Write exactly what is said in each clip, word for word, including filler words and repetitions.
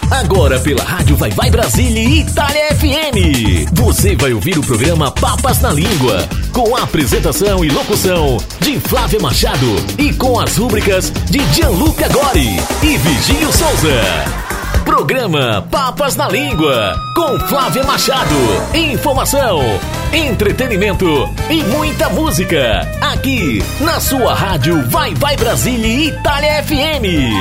Agora pela Rádio Vai Vai Brasília e Itália F M. Você vai ouvir o programa Papas na Língua, com a apresentação e locução de Flávia Machado e com as rúbricas de Gianluca Gori e Virgílio Souza. Programa Papas na Língua, com Flávia Machado. Informação, entretenimento e muita música. Aqui, na sua rádio Vai Vai Brasília e Itália F M.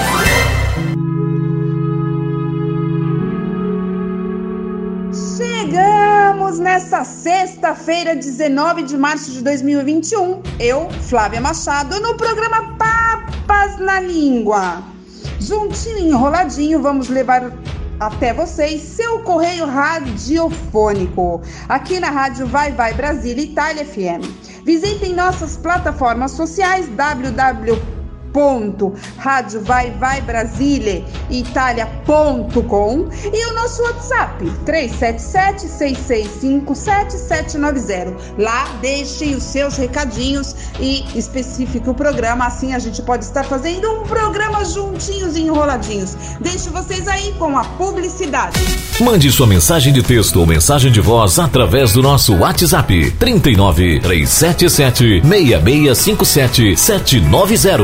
Chegamos nessa sexta-feira, dezenove de março de dois mil e vinte e um. Eu, Flávia Machado, no programa Papas na Língua. Juntinho e enroladinho, vamos levar até vocês seu correio radiofônico, aqui na Rádio Vai Vai Brasília Itália F M. Visitem nossas plataformas sociais w w w ponto rádio vai vai brasília itália ponto com e o nosso WhatsApp três sete sete, seis seis cinco, sete sete nove zero. Lá deixem os seus recadinhos e especifique o programa, assim a gente pode estar fazendo um programa juntinhos e enroladinhos. Deixo vocês aí com a publicidade. Mande sua mensagem de texto ou mensagem de voz através do nosso WhatsApp trinta e nove, três sete sete, seis seis cinco sete, sete nove zero.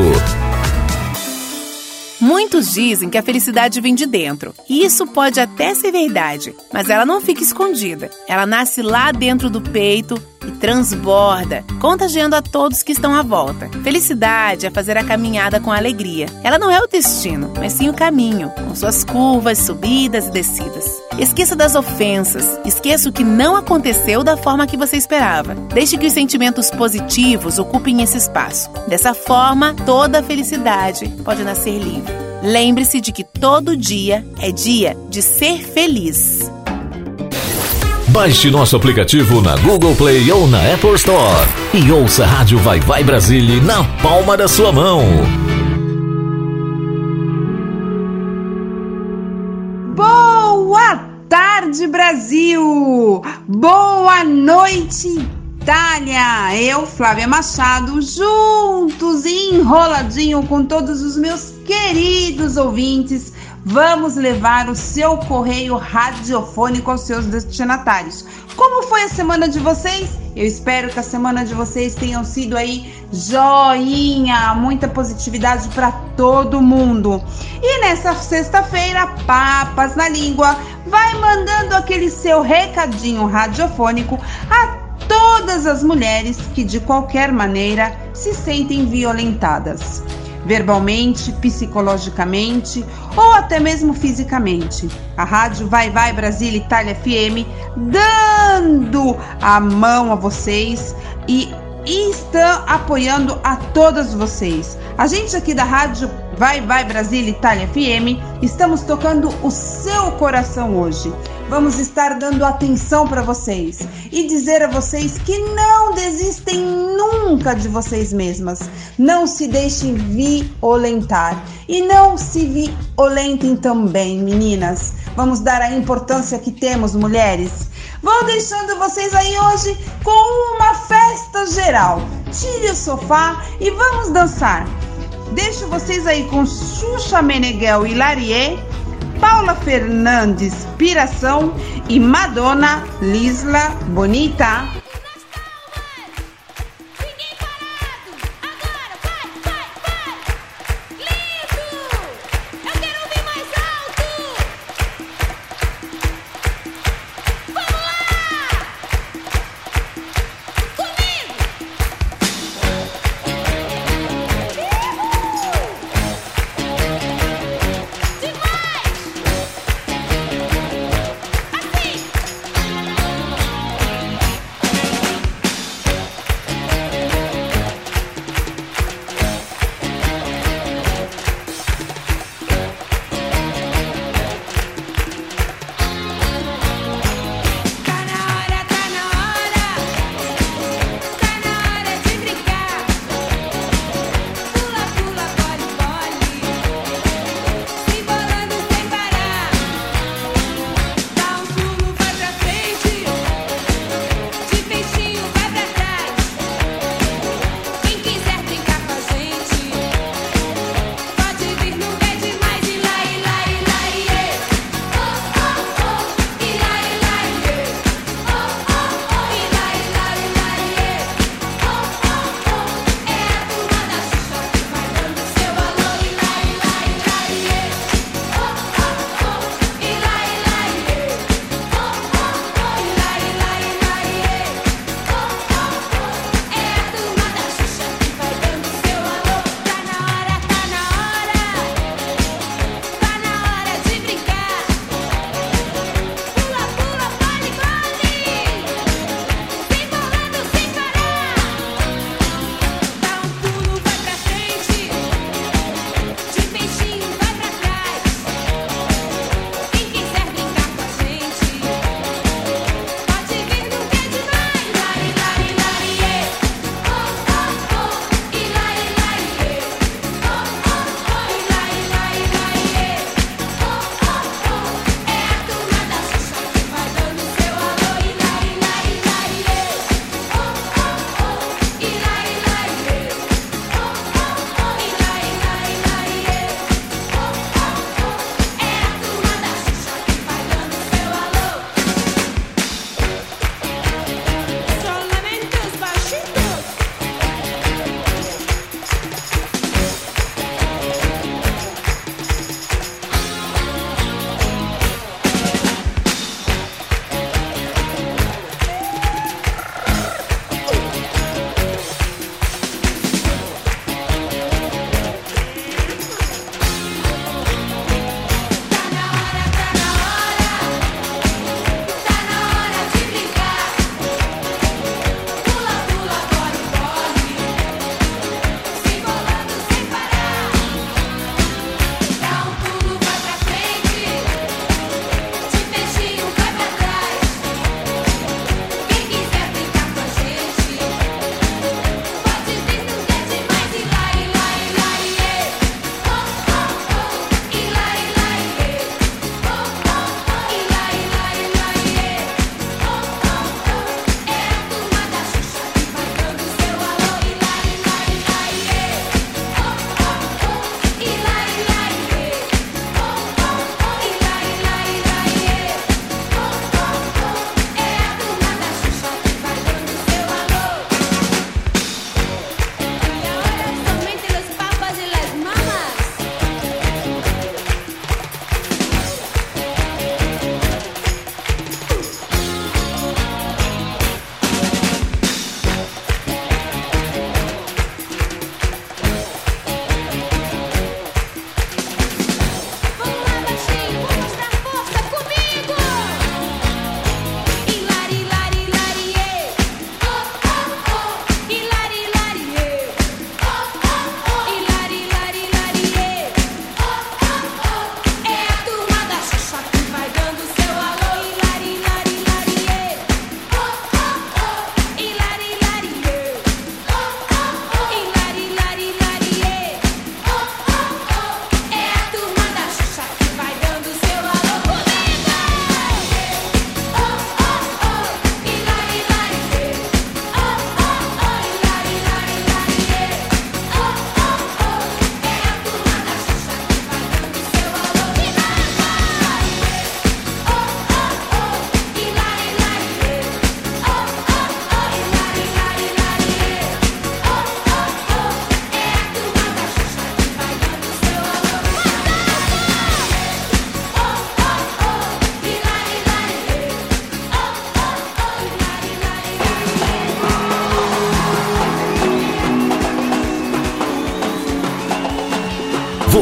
Muitos dizem que a felicidade vem de dentro, e isso pode até ser verdade, mas ela não fica escondida. Ela nasce lá dentro do peito e transborda, contagiando a todos que estão à volta. Felicidade é fazer a caminhada com alegria. Ela não é o destino, mas sim o caminho, com suas curvas, subidas e descidas. Esqueça das ofensas, esqueça o que não aconteceu da forma que você esperava. Deixe que os sentimentos positivos ocupem esse espaço. Dessa forma, toda a felicidade pode nascer livre. Lembre-se de que todo dia é dia de ser feliz. Baixe nosso aplicativo na Google Play ou na Apple Store e ouça a Rádio Vai Vai Brasília na palma da sua mão. Boa tarde, Brasil! Boa noite, Itália! Eu, Flávia Machado, juntos e enroladinho com todos os meus queridos ouvintes, vamos levar o seu correio radiofônico aos seus destinatários. Como foi a semana de vocês? Eu espero que a semana de vocês tenham sido aí joinha, muita positividade para todo mundo. E nessa sexta-feira, Papas na Língua vai mandando aquele seu recadinho radiofônico a todas as mulheres que de qualquer maneira se sentem violentadas. Verbalmente, psicologicamente ou até mesmo fisicamente. A Rádio Vai Vai Brasília Itália F M dando a mão a vocês e estão apoiando a todas vocês. A gente aqui da Rádio Vai Vai Brasília Itália F M estamos tocando o seu coração hoje. Vamos estar dando atenção para vocês e dizer a vocês que não desistem nunca de vocês mesmas. Não se deixem violentar e não se violentem também, meninas. Vamos dar a importância que temos, mulheres. Vou deixando vocês aí hoje com uma festa geral. Tire o sofá e vamos dançar. Deixo vocês aí com Xuxa Meneghel e Larie, Paula Fernandes, Piração e Madonna, Lisla Bonita.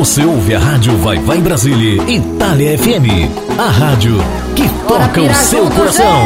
Você ouve a rádio Vai Vai Brasília, Itália F M, a rádio que toca o seu coração.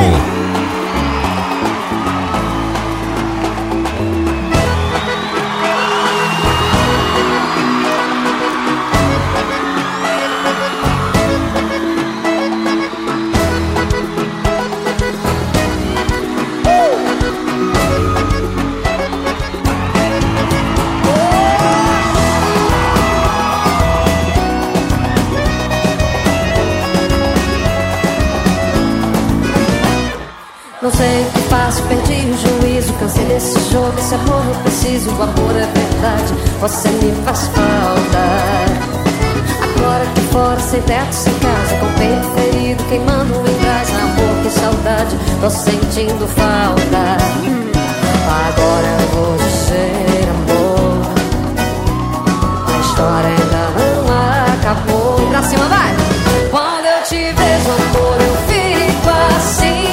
Não sei o que faço, perdi o juízo. Cansei desse jogo, esse amor eu preciso. O amor é verdade, você me faz falta. Agora aqui fora, sem teto, sem casa, com o peito ferido, queimando em brasa. Amor, que saudade, tô sentindo falta. Agora eu vou dizer, amor, a história ainda não acabou. Pra cima, vai! Quando eu te vejo, amor, eu fico assim.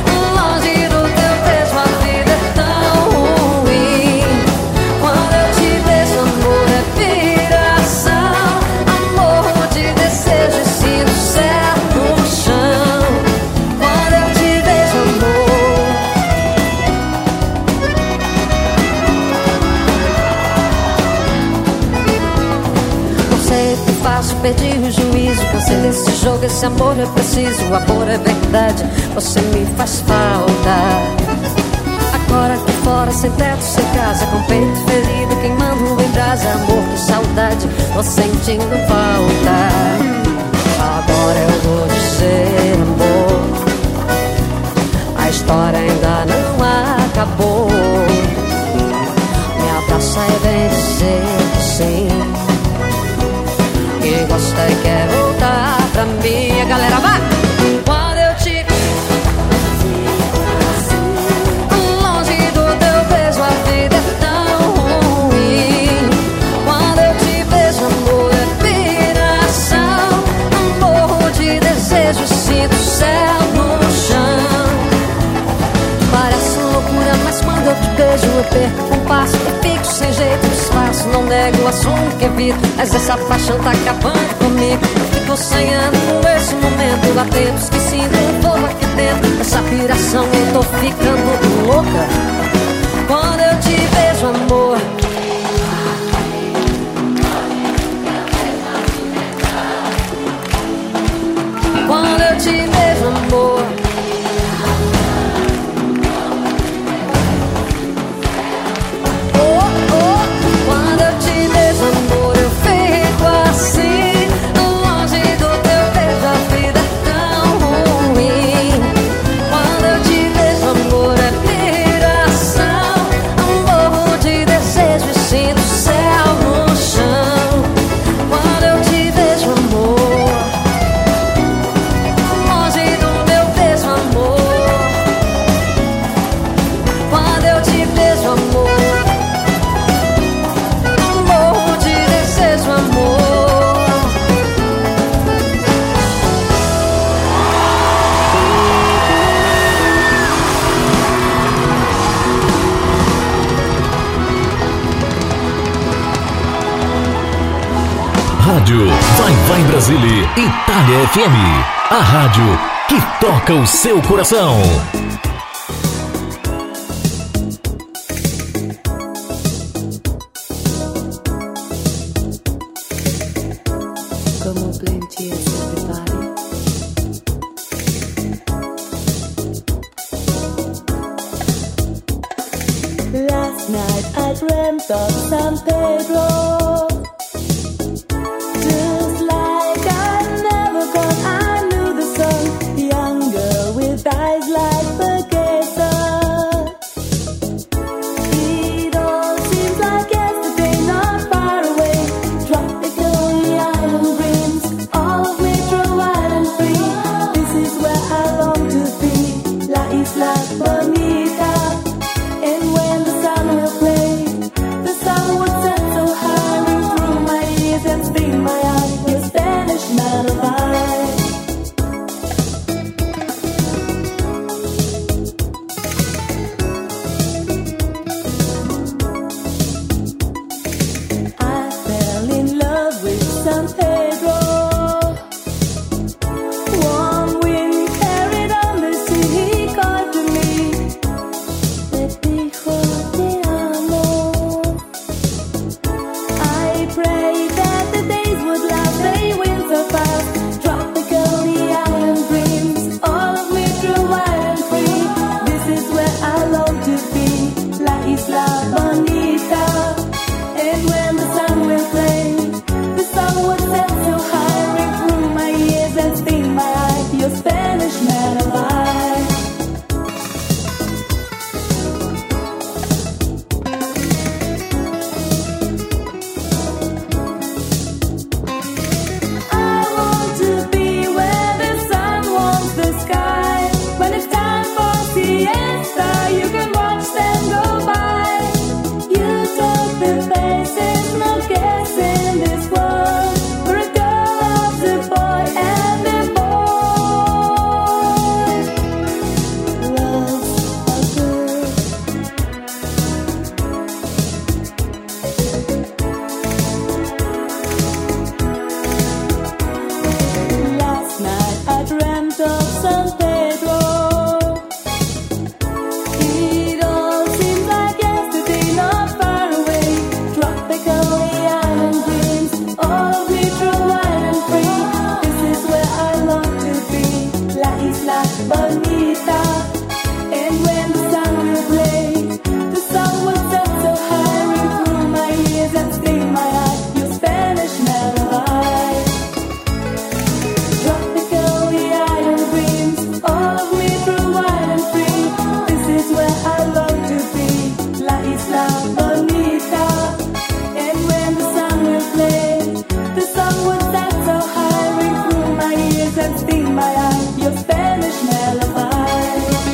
Perdi o juízo, cansei desse jogo, esse amor é preciso, o amor é verdade, você me faz falta. Agora aqui fora, sem teto, sem casa, com o peito ferido, queimando em brasa. Amor, que saudade, tô sentindo falta. Agora eu vou dizer, amor, a história ainda não acabou. Me abraça e vem dizer que sim, que gosta e quer voltar pra mim. A galera vai! Quando eu te longe do teu beijo, a vida é tão ruim. Quando eu te beijo, amor, é piração. Morro de desejo, sinto o céu no chão. Parece loucura, mas quando eu te beijo, eu perco um passo e fico sem jeito, disfarço. Não nego o assunto que evito, mas essa paixão tá acabando comigo. Eu fico sonhando com esse momento. Há tempos que sinto um fogo aqui dentro. Essa piração, eu tô ficando louca. Quando eu te vejo, amor, quando eu te vejo, amor, Rádio Vai Vai Brasília, Itália F M, a rádio que toca o seu coração. Como plenty is everybody. Last night I dreamt of San Pedro. And when the sun will play, the sun would set so high. front of San Pedro. It all seems like yesterday, not far away. Tropical island dreams, all of me true, wild and free. This is where I long to be, La Isla Bonita. And when the sun will blaze, the sun will set so high, ring through my ears and sting my heart. Your Spanish lullaby. Tropical island dreams, all of me true, wild and free. This is where I long to be, La Isla Bonita. And when the sun will blaze, the sun will set so high, ring through my ears and sting my heart. Your Spanish lullaby.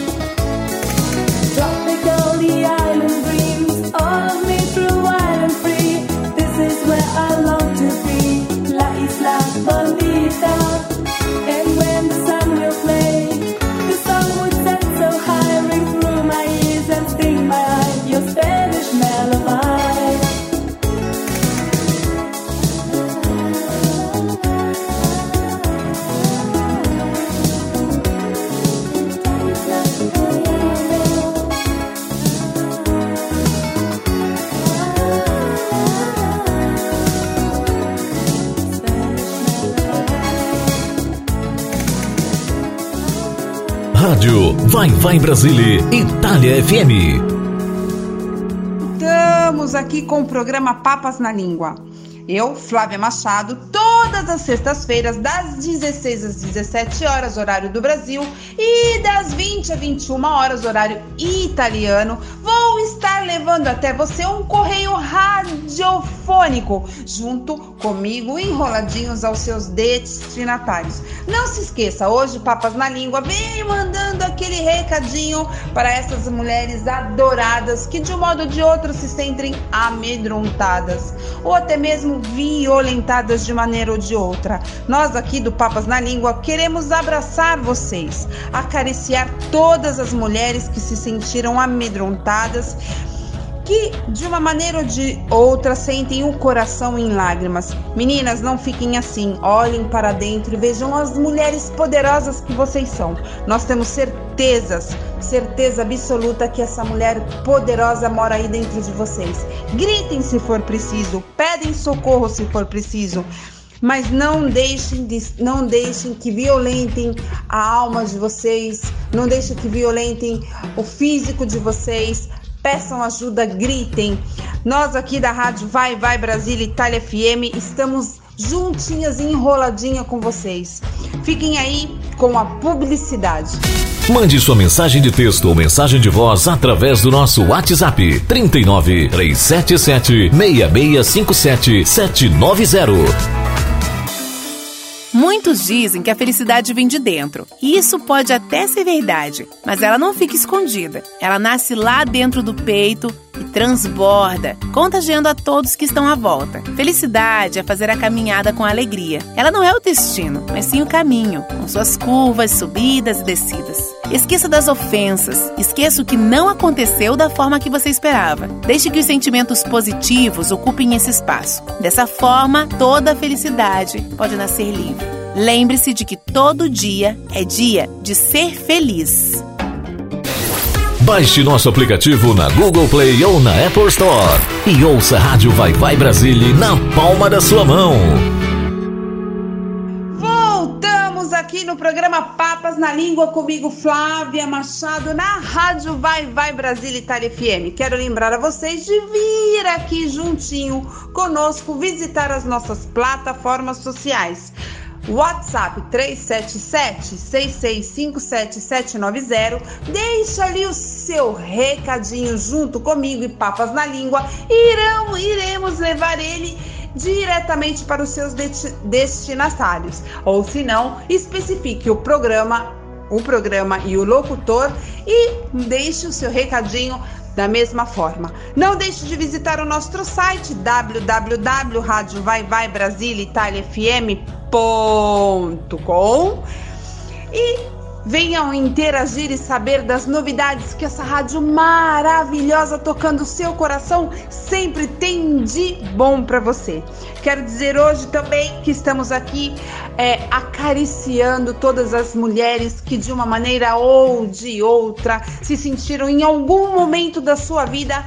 Tropical island dreams, all of me true, wild and free. This is where I long to be, La Isla Bonita. And when the sun will play, the sun would set so high, ring through my ears and sting my eye. Your Spanish lullaby. Rádio Vai Vai Brasília, Itália F M. Estamos aqui com o programa Papas na Língua. Eu, Flávia Machado, todas as sextas-feiras, das dezesseis às dezessete horas, horário do Brasil, e das vinte às vinte e uma horas, horário italiano, vou estar levando até você um correio radiofônico, junto comigo, enroladinhos aos seus destinatários. Não se esqueça, hoje, Papas na Língua, vem mandando aquele recadinho para essas mulheres adoradas que, de um modo ou de outro, se sentem amedrontadas, ou até mesmo violentadas de maneira ou de outra. Nós aqui do Papas na Língua queremos abraçar vocês, acariciar todas as mulheres que se sentiram amedrontadas, que de uma maneira ou de outra sentem o coração em lágrimas. Meninas, não fiquem assim, olhem para dentro e vejam as mulheres poderosas que vocês são. Nós temos certezas, certeza absoluta que essa mulher poderosa mora aí dentro de vocês. Gritem se for preciso, pedem socorro se for preciso, mas não deixem, de, não deixem que violentem a alma de vocês, não deixem que violentem o físico de vocês. Peçam ajuda, gritem. Nós aqui da Rádio Vai Vai Brasília, Itália F M, estamos juntinhas e enroladinha com vocês. Fiquem aí com a publicidade. Mande sua mensagem de texto ou mensagem de voz através do nosso WhatsApp trinta e nove, três sete sete, seis seis cinco sete, sete nove zero. Muitos dizem que a felicidade vem de dentro, e isso pode até ser verdade, mas ela não fica escondida. Ela nasce lá dentro do peito e transborda, contagiando a todos que estão à volta. Felicidade é fazer a caminhada com alegria. Ela não é o destino, mas sim o caminho, com suas curvas, subidas e descidas. Esqueça das ofensas, esqueça o que não aconteceu da forma que você esperava. Deixe que os sentimentos positivos ocupem esse espaço. Dessa forma, toda a felicidade pode nascer livre. Lembre-se de que todo dia é dia de ser feliz. Baixe nosso aplicativo na Google Play ou na Apple Store e ouça a Rádio Vai Vai Brasília na palma da sua mão. Voltamos aqui no programa Papas na Língua comigo, Flávia Machado, na Rádio Vai Vai Brasília, Itália F M. Quero lembrar a vocês de vir aqui juntinho conosco visitar as nossas plataformas sociais. WhatsApp três sete sete, seis seis cinco sete, sete nove zero. Deixa ali o seu recadinho junto comigo e Papas na Língua. Irão, iremos levar ele diretamente para os seus destinatários. Ou se não, especifique o programa, o programa e o locutor e deixe o seu recadinho da mesma forma. Não deixe de visitar o nosso site w w w ponto rádio vai vai brasília itália f m ponto com e Venham interagir e saber das novidades que essa rádio maravilhosa tocando o seu coração sempre tem de bom para você. Quero dizer hoje também que estamos aqui é, acariciando todas as mulheres que de uma maneira ou de outra se sentiram em algum momento da sua vida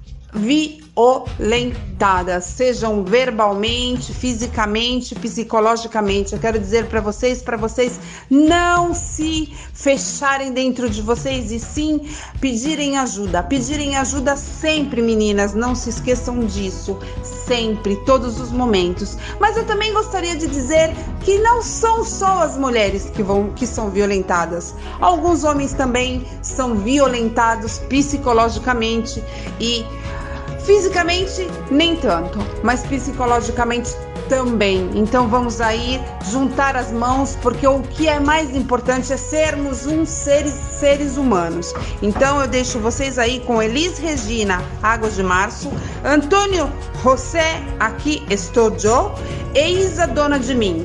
violentadas, sejam verbalmente, fisicamente, psicologicamente. Eu quero dizer para vocês, para vocês não se fecharem dentro de vocês e sim pedirem ajuda. Pedirem ajuda sempre, meninas, não se esqueçam disso, sempre, todos os momentos. Mas eu também gostaria de dizer que não são só as mulheres que vão que são violentadas. Alguns homens também são violentados psicologicamente e fisicamente nem tanto, mas psicologicamente também. Então vamos aí juntar as mãos, porque o que é mais importante é sermos uns seres, seres humanos. Então eu deixo vocês aí com Elis Regina, Águas de Março, Antônio José, Aqui Estou Eu, e Isa, Dona de Mim.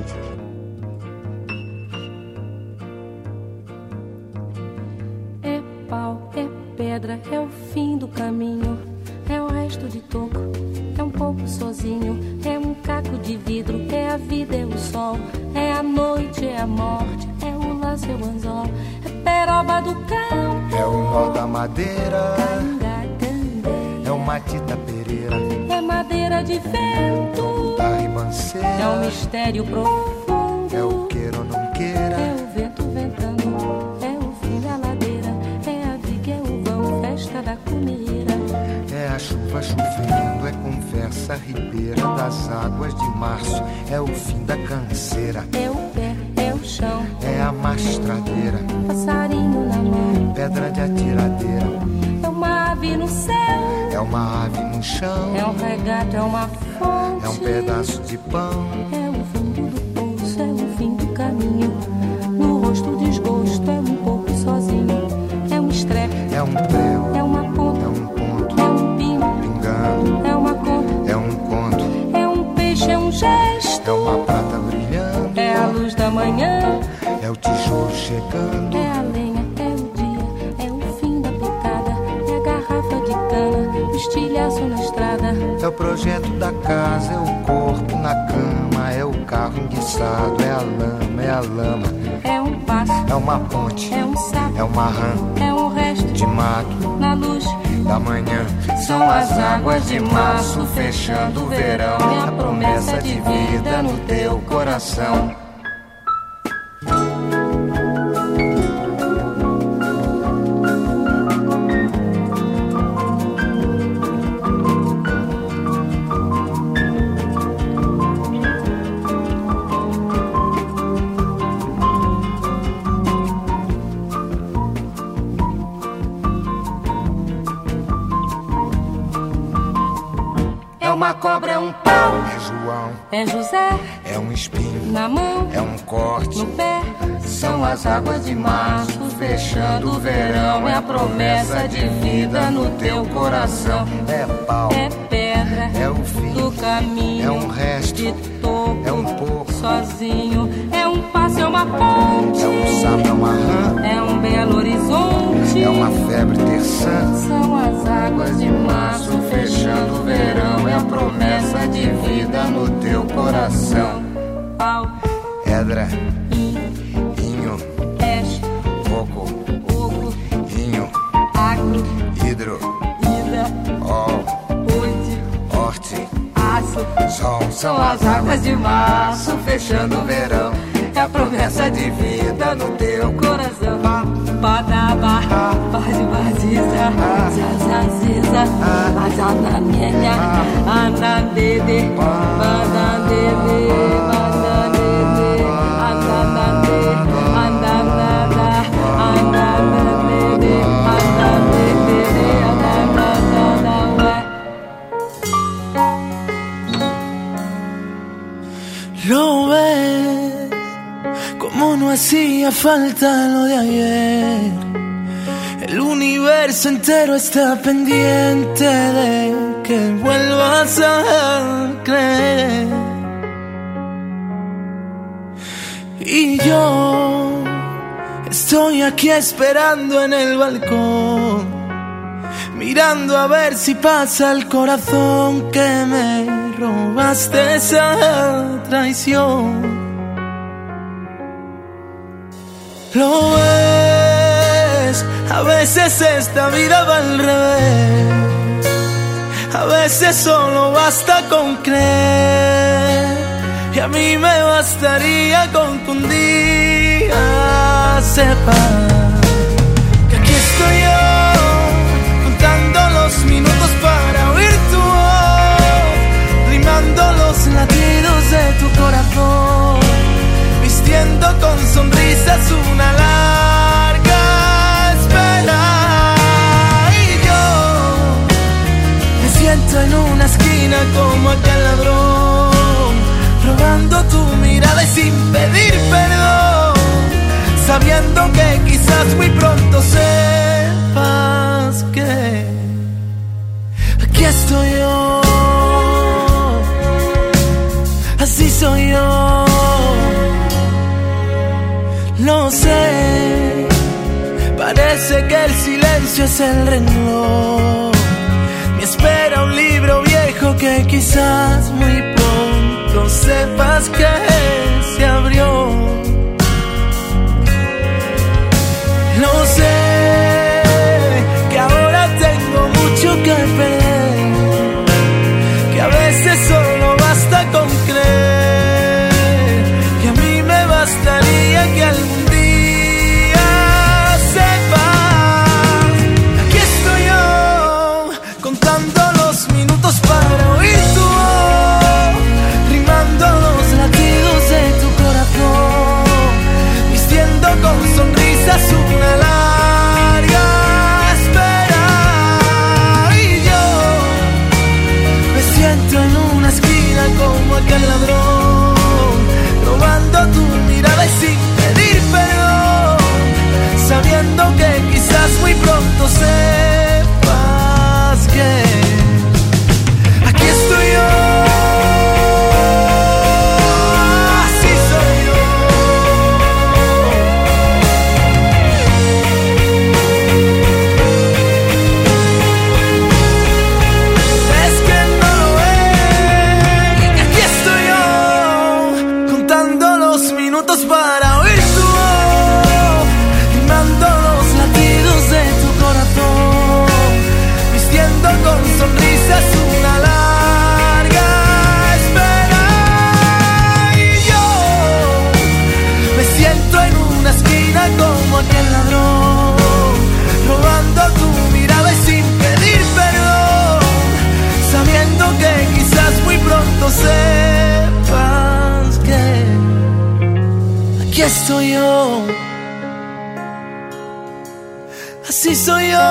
É pau, é pedra, é o fim do caminho. É o resto de toco, é um pouco sozinho. É um caco de vidro, é a vida, é o sol. É a noite, é a morte, é o laço, é o anzol. É peroba do campo, é o nó da madeira, Canga, é o matita pereira, é madeira de vento, da ribanceira, é um mistério profundo, é o queira ou não queira, é o vento ventando, é o fim da ladeira, é a viga, é o vão, festa da cumeira. é a chuva chovendo, é conversa ribeira das águas de março, é o fim da canseira, É o pé, é o chão, é a mastradeira, passarinho na mão, pedra de atiradeira, é uma ave no céu, é uma ave no chão, é um regato, é uma fonte, é um pedaço de pão, é o fundo do poço, é o fim do caminho. No rosto o desgosto, é um pouco sozinho, é um estrepe, é um prego, é uma é ponta, um ponto, é um pingo, pingando, é uma conta, é um conto, é um peixe, é um gesto, é uma prata brilhando, é a luz da manhã, é o tijolo chegando, é a lenha, é o dia, é o fim da picada, é a garrafa de cana, o estilhaço na estrada, é o projeto da casa, é o corpo na cama, é o carro enguiçado, é a lama, é a lama, é um passo, é uma ponte, é um sapo, é uma rã é um resto de mato na luz. da manhã. São as águas de março fechando o verão, é a promessa de vida no teu coração. É uma cobra, é um pau, É João, é José é um espinho, na mão, é um corte, no pé. são as águas de março fechando o verão, é a promessa de vida no teu coração. É pau, É pedra, é o fim, do caminho, é um resto, de toco, é um pouco, sozinho, é um passo, é uma ponte, é um sapo, é uma rã, é um belo horizonte, é uma febre terçã. são as águas de março Fechando o verão, é a promessa de vida no teu coração. pau, Pedra, in, inho, peixe, coco, oco, inho, agro, hidro, ida, ol, oite, horte, aço, sol. São as águas de março fechando o verão, é a promessa de vida no teu coração. Padaba, Badi Badiza, Zazaziza, Azananenha, Anandede, Bandandede, Bandandede, Anandade, Anandada, Anandade, Anandede, Anandada, Lo ves, como no hacía falta lo de ayer. El universo entero está pendiente de que vuelvas a creer. Y yo Estoy aquí esperando en el balcón, mirando a ver si pasa el corazón que me robaste esa traición. Lo ves, a veces esta vida va al revés, a veces solo basta con creer, y a mí me bastaría con que un día sepas que aquí estoy yo, contando los minutos para oír tu voz, rimando los latidos de tu corazón, vistiendo con sonrisas una larga espera. Y yo me siento en una esquina como aquel ladrón, robando tu mirada y sin pedir perdón, sabiendo que quizás muy pronto sepas que aquí estoy yo, así soy yo. No sé, parece que el silencio es el renglón, me espera un libro viejo que quizás muy pronto sepas que se abrió. No sé, que ahora tengo mucho que perder, que a veces solo basta con creer, que a mí me bastaría que algún día sepas. Aquí estoy yo, contando los minutos para oír tu voz, rimando los latidos de tu corazón, vistiendo con sonrisas una larga espera. Y yo me siento en una esquina como aquel ladrón, robando tu mirada y sin pedir perdón, sabiendo que quizás muy pronto sepas que aquí estoy yo, así soy yo. Es que no lo ves, aquí estoy yo, contando los minutos para oír tu voz, rimando los latidos de tu corazón, vistiendo con sonrisas una larga espera. Y yo me siento en una esquina como aquel ladrón, robando tu mirada y sin pedir perdón, sabiendo que quizás muy pronto sepas que aquí estoy yo, así soy yo.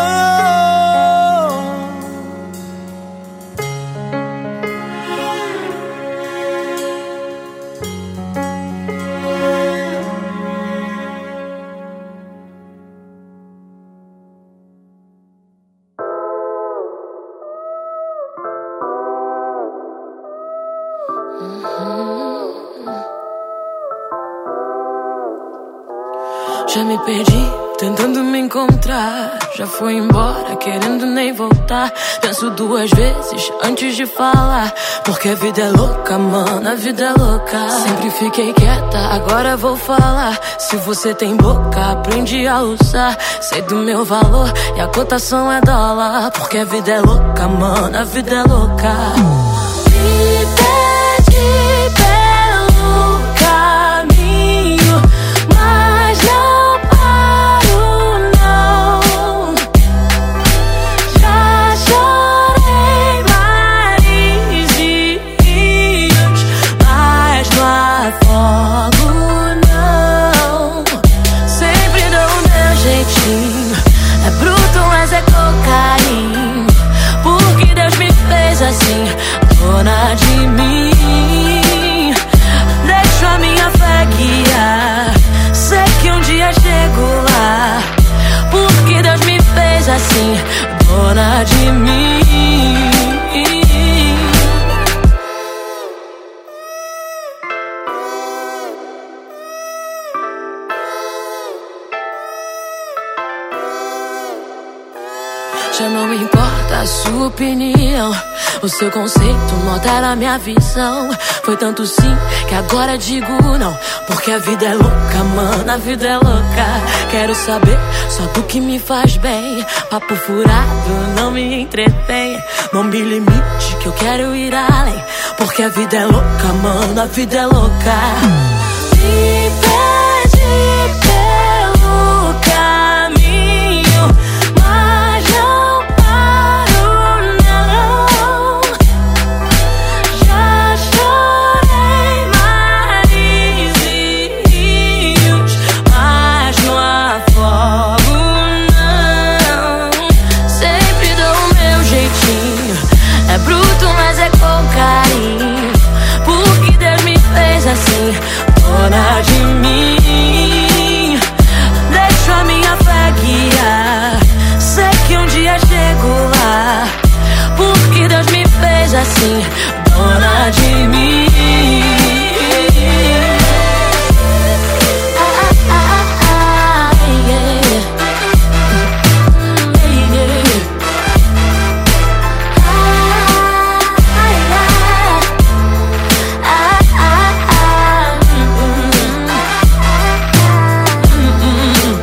Já me perdi, tentando me encontrar. Já foi embora, querendo nem voltar. Penso duas vezes antes de falar, porque a vida é louca, mano, a vida é louca. Sempre fiquei quieta, agora vou falar. Se você tem boca, aprende a usar. Sei do meu valor e a cotação é dólar, porque a vida é louca, mano, a vida é louca. Me perdi pelo caminho, mas não paro, não. Já chorei mares e rios, mas não afogo, não. Sempre dou o meu jeitinho, é bruto, mas é cocaína, porque Deus me fez assim, dona de mim. Deixo a minha fé guiar, sei que um dia chego lá, porque Deus me fez assim, dona de mim. Poxa, não importa a sua opinião, o seu conceito não altera a minha visão. Foi tanto sim que agora digo não, porque a vida é louca, mano, a vida é louca. Quero saber só do que me faz bem. Papo furado não me entretém. Não me limite que eu quero ir além, porque a vida é louca, mano, a vida é louca. Me pede pelo caminho, mas não paro não. Já chorei mares e rios, mas não afogo não. Sempre dou o meu jeitinho, é bruto mas é com carinho, porque Deus me fez assim, dona de mim. Deixo a minha fé guiar, sei que um dia chego lá, porque Deus me fez assim, dona de mim. Ah, ah, ah, ah, yeah. Yeah. Ah, ah, ah, ah, ah, mm, mm, mm.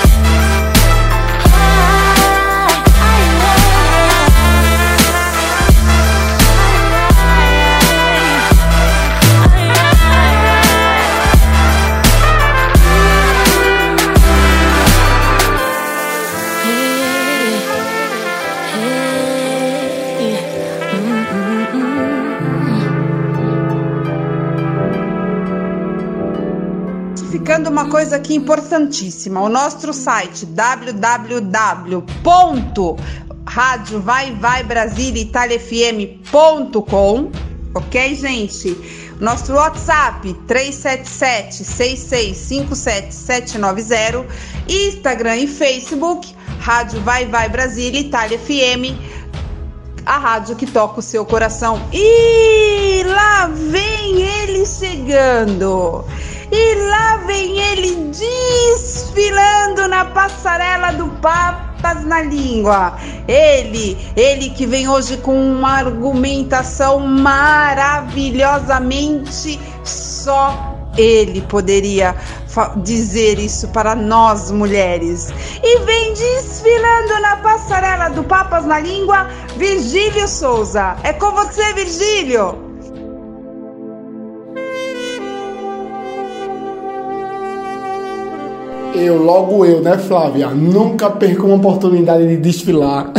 Ficando uma coisa aqui importantíssima, o nosso site w w w ponto rádio vai vai brasília itália f m ponto com, ok, gente? Nosso WhatsApp três sete sete, seis seis cinco sete, sete nove zero, Instagram e Facebook Rádio Vai Vai Brasília Itália F M, a rádio que toca o seu coração. E lá vem ele chegando, e lá vem ele desfilando na passarela do Papas na Língua. Ele, ele que vem hoje com uma argumentação maravilhosamente só ele poderia dizer isso para nós mulheres. E vem desfilando na passarela do Papas na Língua, Virgílio Souza. É com você, Virgílio. Eu, logo eu, né, Flávia? Nunca perco uma oportunidade de desfilar.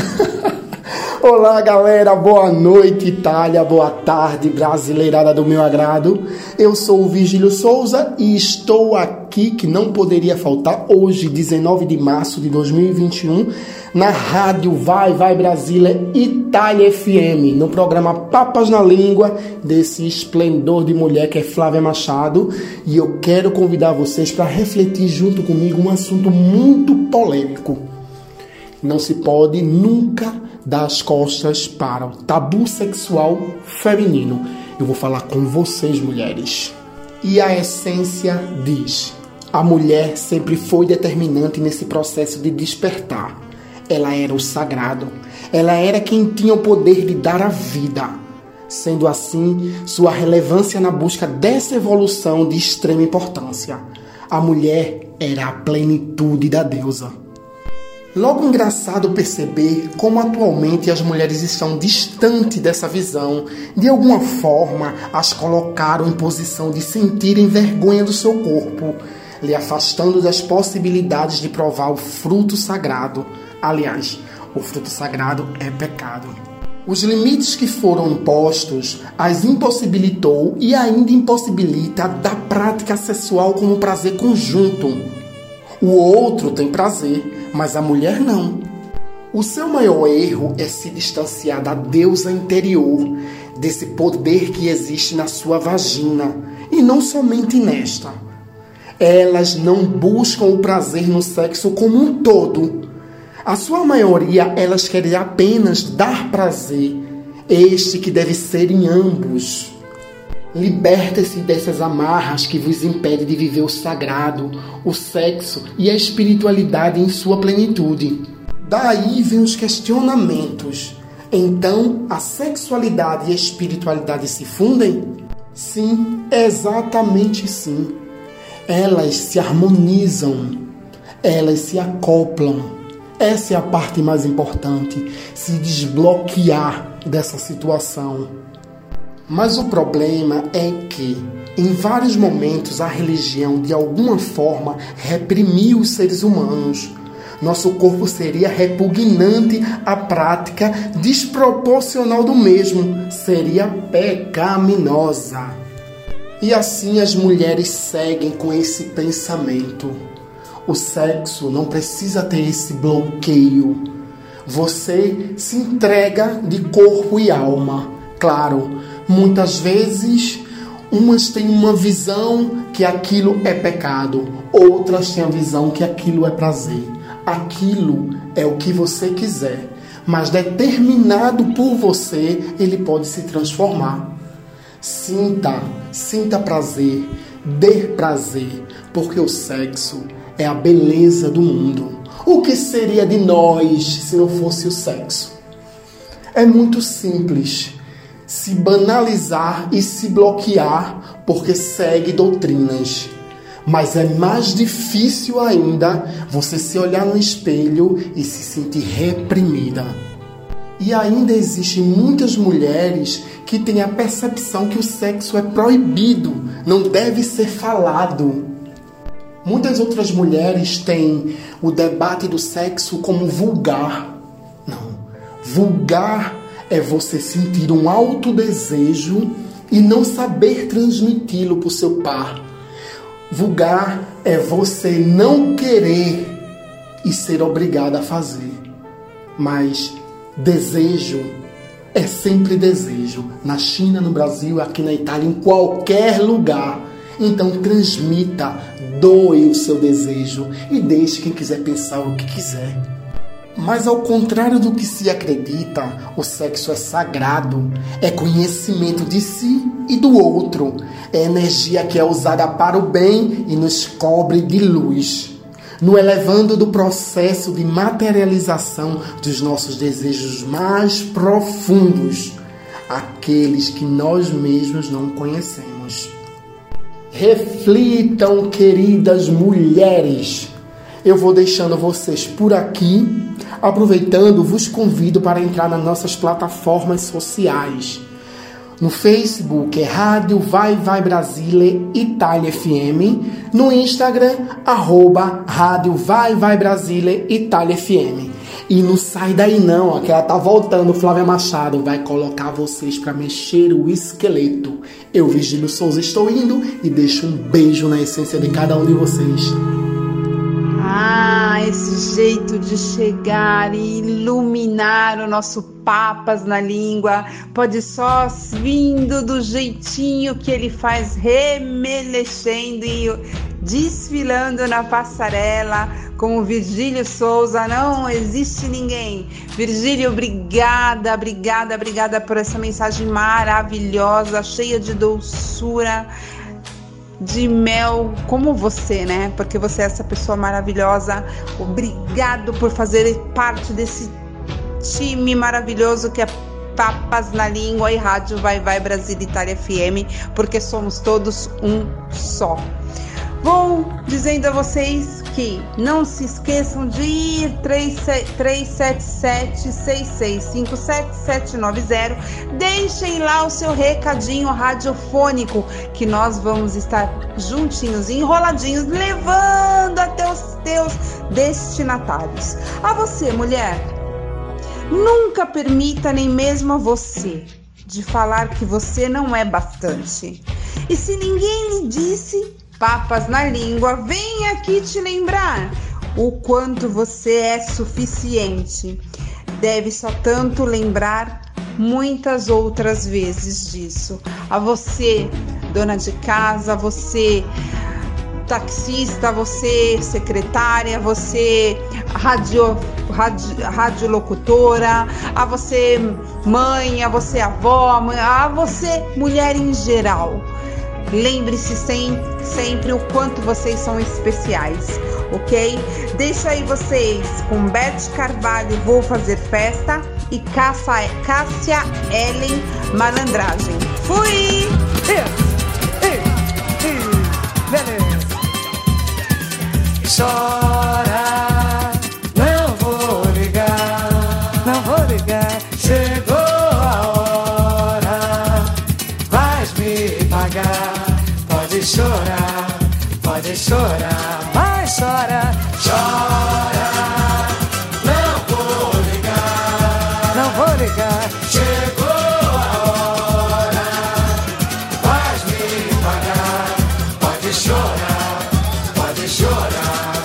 Olá, galera, boa noite, Itália, boa tarde, brasileirada do meu agrado. Eu sou o Virgílio Souza e estou aqui, que não poderia faltar, hoje, dezenove de março de dois mil e vinte e um, na rádio Vai Vai Brasília Itália F M, no programa Papas na Língua, desse esplendor de mulher que é Flávia Machado. E eu quero convidar vocês para refletir junto comigo um assunto muito polêmico. Não se pode nunca dar as costas para o tabu sexual feminino. Eu vou falar com vocês, mulheres. E a essência diz: a mulher sempre foi determinante nesse processo de despertar. Ela era o sagrado. Ela era quem tinha o poder de dar a vida. Sendo assim, sua relevância na busca dessa evolução de extrema importância. A mulher era a plenitude da deusa. Logo engraçado perceber como atualmente as mulheres estão distantes dessa visão. De alguma forma, as colocaram em posição de sentirem vergonha do seu corpo, lhe afastando das possibilidades de provar o fruto sagrado. Aliás, o fruto sagrado é pecado. Os limites que foram impostos as impossibilitou e ainda impossibilita da prática sexual como prazer conjunto. O outro tem prazer, mas a mulher não. O seu maior erro é se distanciar da deusa interior, desse poder que existe na sua vagina, e não somente nesta. Elas não buscam o prazer no sexo como um todo. A sua maioria, elas querem apenas dar prazer, este que deve ser em ambos. Liberta-se dessas amarras que vos impedem de viver o sagrado, o sexo e a espiritualidade em sua plenitude. Daí vem os questionamentos. Então, a sexualidade e a espiritualidade se fundem? Sim, exatamente sim. Elas se harmonizam, elas se acoplam. Essa é a parte mais importante, se desbloquear dessa situação. Mas o problema é que, em vários momentos, a religião, de alguma forma, reprimiu os seres humanos. Nosso corpo seria repugnante à prática desproporcional do mesmo, seria pecaminosa. E assim as mulheres seguem com esse pensamento. O sexo não precisa ter esse bloqueio. Você se entrega de corpo e alma. Claro, muitas vezes umas têm uma visão que aquilo é pecado, outras têm a visão que aquilo é prazer. Aquilo é o que você quiser, mas determinado por você, ele pode se transformar. Sinta, sinta prazer, dê prazer, porque o sexo é a beleza do mundo. O que seria de nós se não fosse o sexo? É muito simples se banalizar e se bloquear porque segue doutrinas. Mas é mais difícil ainda você se olhar no espelho e se sentir reprimida. E ainda existem muitas mulheres que têm a percepção que o sexo é proibido, não deve ser falado. Muitas outras mulheres têm o debate do sexo como vulgar. Não, vulgar é você sentir um alto desejo e não saber transmiti-lo para o seu par. Vulgar é você não querer e ser obrigado a fazer. Mas desejo é sempre desejo. Na China, no Brasil, aqui na Itália, em qualquer lugar. Então transmita, doe o seu desejo e deixe quem quiser pensar o que quiser. Mas ao contrário do que se acredita, o sexo é sagrado, é conhecimento de si e do outro, é energia que é usada para o bem e nos cobre de luz, no elevando do processo de materialização dos nossos desejos mais profundos, aqueles que nós mesmos não conhecemos. Reflitam, queridas mulheres. Eu vou deixando vocês por aqui. Aproveitando, vos convido para entrar nas nossas plataformas sociais. No Facebook é Rádio Vai Vai Brasile Itália F M. No Instagram, arroba Rádio Vai Vai Brasile Itália F M. E não sai daí não, ó, que ela tá voltando, Flávia Machado. Vai colocar vocês para mexer o esqueleto. Eu, Virgílio Souza, estou indo e deixo um beijo na essência de cada um de vocês. Ah, esse jeito de chegar e iluminar o nosso Papas na Língua pode só vindo do jeitinho que ele faz, remelexendo e desfilando na passarela como Virgílio Souza. Não existe ninguém. Virgílio, obrigada, obrigada, obrigada por essa mensagem maravilhosa, cheia de doçura, de mel, como você, né? Porque você é essa pessoa maravilhosa. Obrigado por fazer parte desse time maravilhoso que é Papas na Língua e Rádio Vai Vai Brasil Itália F M, porque somos todos um só. Vou dizendo a vocês que não se esqueçam de ir três sete sete, seis seis cinco sete, sete nove zero. Deixem lá o seu recadinho radiofônico que nós vamos estar juntinhos, enroladinhos, levando até os teus destinatários. A você, mulher, nunca permita nem mesmo a você de falar que você não é bastante. E se ninguém lhe disse, Papas na Língua vem aqui te lembrar o quanto você é suficiente. Deve só tanto lembrar muitas outras vezes disso. A você, dona de casa, você taxista, você secretária, você radio, radio, radiolocutora, a você mãe, a você avó, a você mulher em geral. Lembre-se sempre, sempre o quanto vocês são especiais, ok? Deixo aí vocês com Beth Carvalho, Vou Fazer Festa, e Cássia, Cássia Ellen, Malandragem. Fui! Chora, não vou ligar, não vou ligar. Chegou a hora, vais me pagar. Pode chorar, pode chorar, mas chora, chora. Não vou ligar, não vou ligar. Chegou a hora, vais me pagar. Pode chorar, pode chorar.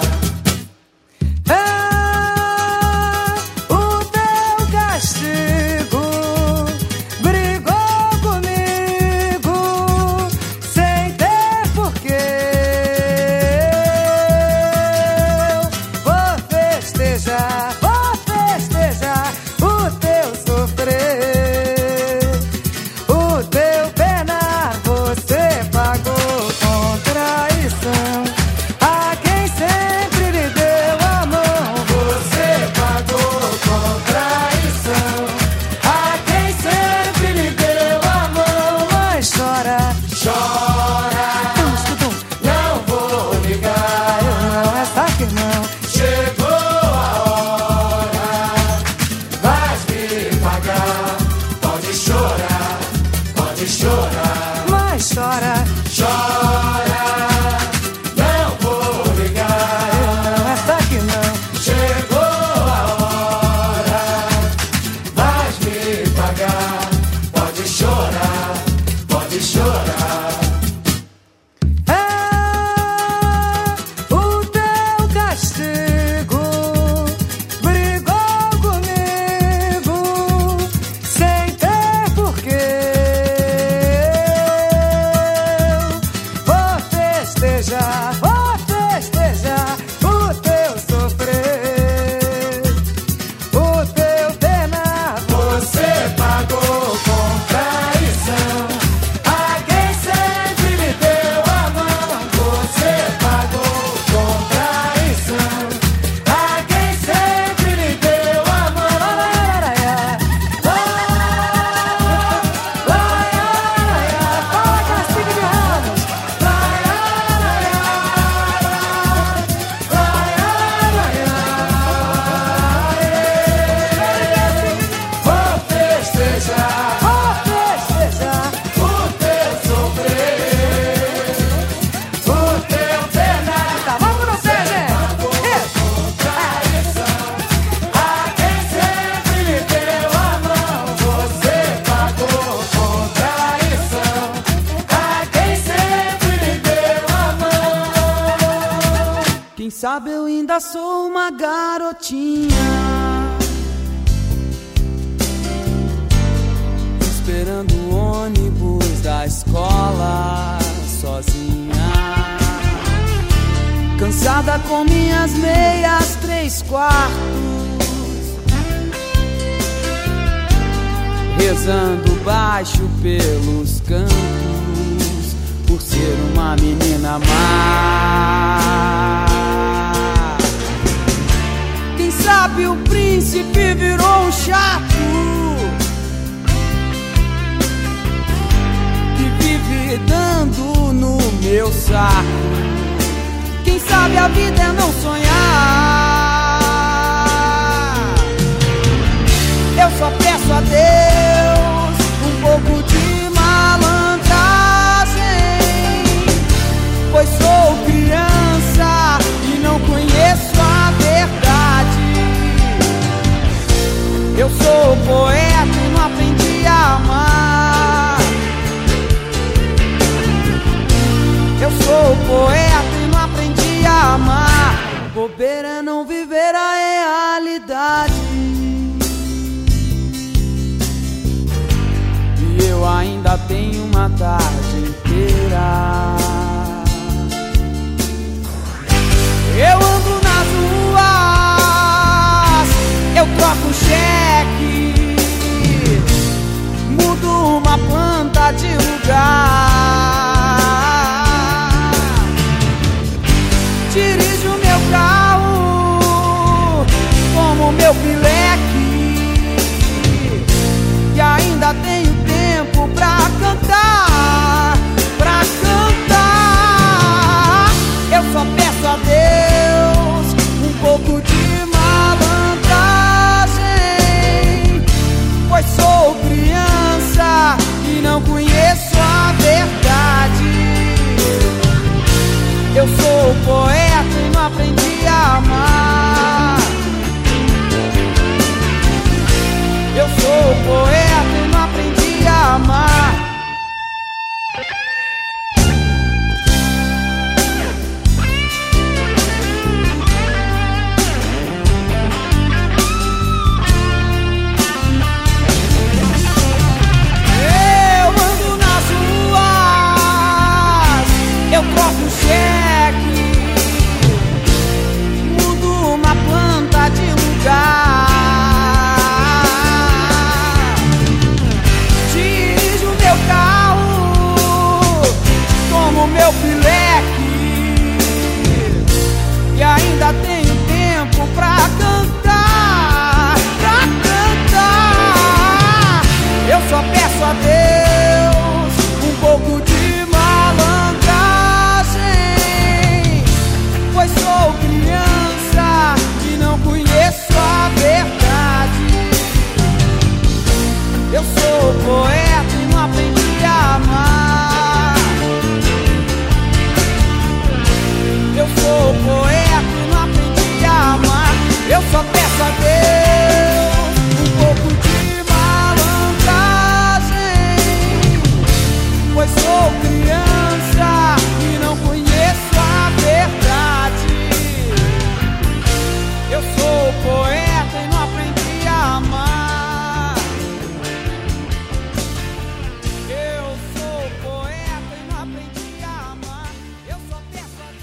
Sabe, eu ainda sou uma garotinha, esperando o ônibus da escola sozinha, cansada com minhas meias três quartos, rezando baixo pelos cantos, por ser uma menina má. Quem sabe o príncipe virou um chato que vive dando no meu saco. Quem sabe a vida é não sonhar. Eu só peço a Deus um pouco de malandragem, pois sou criança e não conheço a verdade. Eu sou poeta e não aprendi a amar. Eu sou poeta e não aprendi a amar. Bobeira é não viver a realidade. E eu ainda tenho uma tarde inteira. Eu ando nas ruas, eu troco cheque, mudo uma planta de lugar. Dirijo meu carro como meu pileque, e ainda tenho tempo pra cantar, pra cantar. Eu só peço a Deus um pouco de malandragem, pois sou criança e não conheço a verdade. Eu sou poeta e não aprendi a amar. Eu sou poeta e não aprendi a amar. Eu ando nas ruas, eu troco um cheque, mudo uma planta de lugar. Dirijo meu carro como meu pileque, e ainda tenho tempo pra cantar, pra cantar. Eu só peço a Deus um pouco de malandragem, pois sou criança e não conheço a verdade. Eu sou poeta e não aprendi a amar. Eu sou poeta e não aprendi a amar. Eu só peço a Deus um pouco de malandragem, pois sou criança e não conheço a verdade. Eu sou poeta e não aprendi a amar. Eu sou poeta e não aprendi a amar. Eu só peço a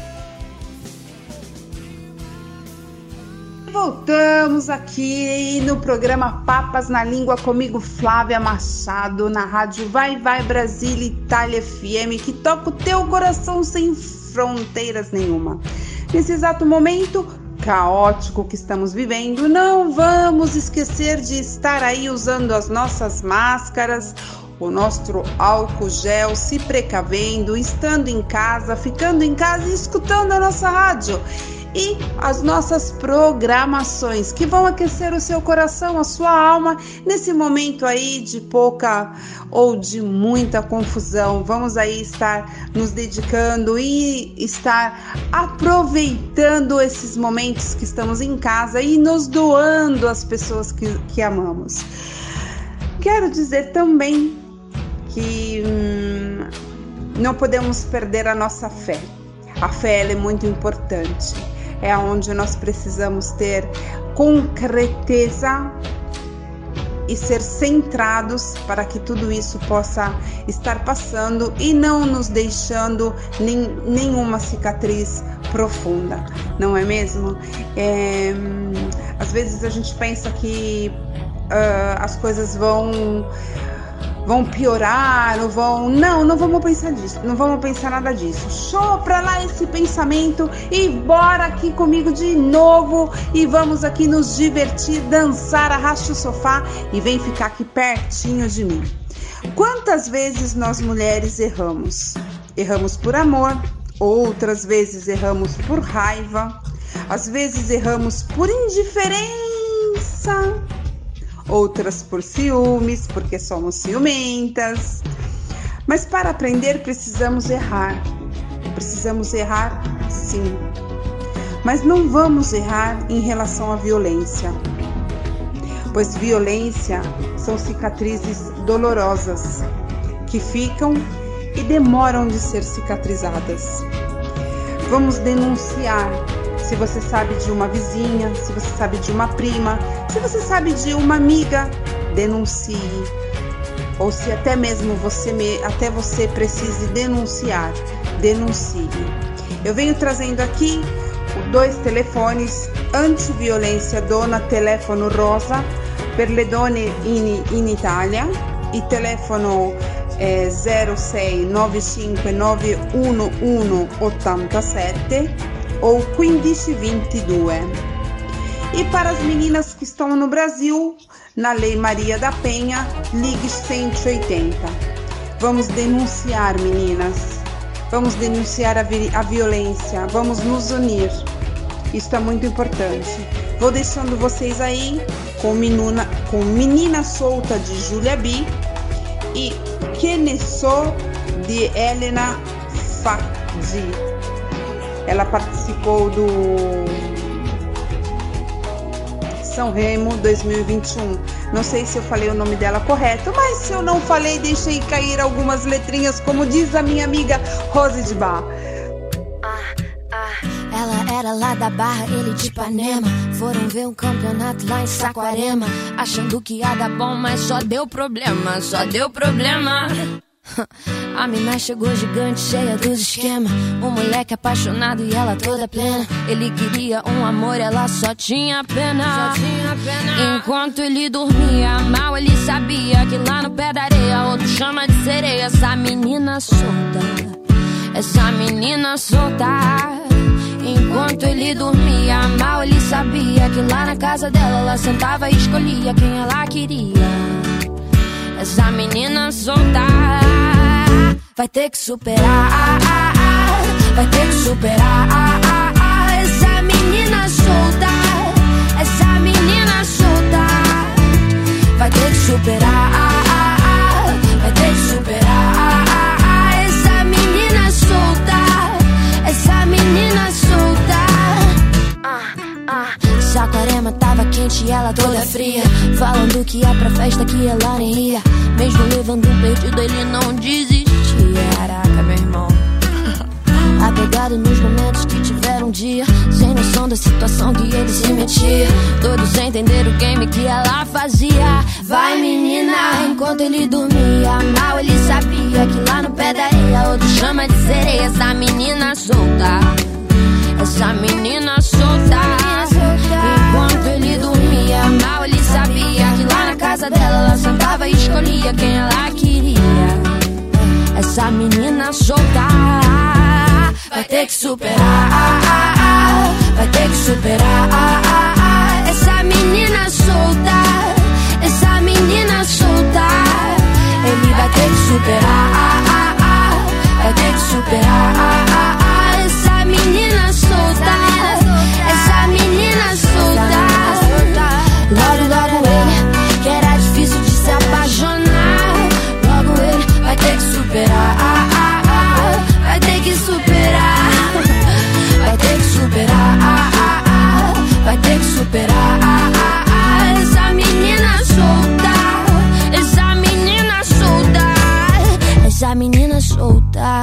Deus. Voltamos aqui no programa Papas na Língua comigo, Flávia Machado, na rádio Vai Vai Brasília Itália F M, que toca o teu coração sem fronteiras nenhuma. Nesse exato momento caótico que estamos vivendo, não vamos esquecer de estar aí usando as nossas máscaras, o nosso álcool gel, se precavendo, estando em casa, ficando em casa e escutando a nossa rádio e as nossas programações que vão aquecer o seu coração, a sua alma nesse momento aí de pouca ou de muita confusão. Vamos aí estar nos dedicando e estar aproveitando esses momentos que estamos em casa e nos doando às pessoas que, que amamos. Quero dizer também que hum, não podemos perder a nossa fé. A fé ela é muito importante. É onde nós precisamos ter concreteza e ser centrados para que tudo isso possa estar passando e não nos deixando nem, nenhuma cicatriz profunda, não é mesmo? É, às vezes a gente pensa que uh, as coisas vão vão piorar ou vão... Não, não vamos pensar disso, não vamos pensar nada disso. Show pra lá esse pensamento e bora aqui comigo de novo e vamos aqui nos divertir, dançar, arraste o sofá e vem ficar aqui pertinho de mim. Quantas vezes nós mulheres erramos? Erramos por amor, outras vezes erramos por raiva, às vezes erramos por indiferença, outras por ciúmes, porque somos ciumentas. Mas para aprender precisamos errar. Precisamos errar, sim. Mas não vamos errar em relação à violência, pois violência são cicatrizes dolorosas que ficam e demoram de ser cicatrizadas. Vamos denunciar. Se você sabe de uma vizinha, se você sabe de uma prima, se você sabe de uma amiga, denuncie. Ou se até mesmo você, até você precise denunciar, denuncie. Eu venho trazendo aqui dois telefones antiviolência, dona telefono rosa per le donne in, in Italia, e telefono zero sei nove cinque nove uno uno otto sette ou quindici ventidue. E para as meninas que estão no Brasil, na Lei Maria da Penha, ligue cento e oitenta. Vamos denunciar, meninas. Vamos denunciar a, vi- a violência. Vamos nos unir. Isso é muito importante. Vou deixando vocês aí com Menina, com Menina Solta de Julia B e Que Ne So de Helena Fadi. Ela participou do São Remo dois mil e vinte e um. Não sei se eu falei o nome dela correto, mas se eu não falei, deixei cair algumas letrinhas, como diz a minha amiga Rose de Bar. Ela era lá da Barra, ele de Ipanema. Foram ver um campeonato lá em Saquarema, achando que ia dar bom, mas só deu problema, só deu problema. A mina chegou gigante, cheia dos esquemas. Um moleque apaixonado e ela toda plena. Ele queria um amor, ela só tinha pena, só tinha pena. Enquanto ele dormia mal, ele sabia que lá no pé da areia outro chama de sereia. Essa menina solta, essa menina solta. Enquanto ele dormia mal, ele sabia que lá na casa dela ela sentava e escolhia quem ela queria. Essa menina solta vai ter que superar, vai ter que superar. Essa menina solta, essa menina solta vai ter que superar, vai ter que superar. Essa menina solta, essa menina solta. Saquarema tava quente e ela toda fria, falando que ia pra festa que ela nem ia. Mesmo levando um perdido ele não desistia. Caraca, meu irmão. Apegado nos momentos que tiveram um dia, sem noção da situação que ele se metia. Todos entenderam o game que ela fazia. Vai menina, enquanto ele dormia mal, ele sabia que lá no pé da areia outro chama de sereia. Essa menina solta, essa menina solta. Enquanto ele dormia mal, ele sabia que lá na casa dela ela sentava e escolhia quem ela queria. Essa menina solta vai ter que superar, vai ter que superar. Essa menina solta, essa menina solta. Ele vai ter que superar, vai ter que superar. Essa menina solta, essa menina solta. Logo, logo ele, que era difícil de se apaixonar. Logo ele vai ter que superar, vai ter que superar, vai ter que superar, vai ter que superar. Essa menina solta, essa menina solta, essa menina solta.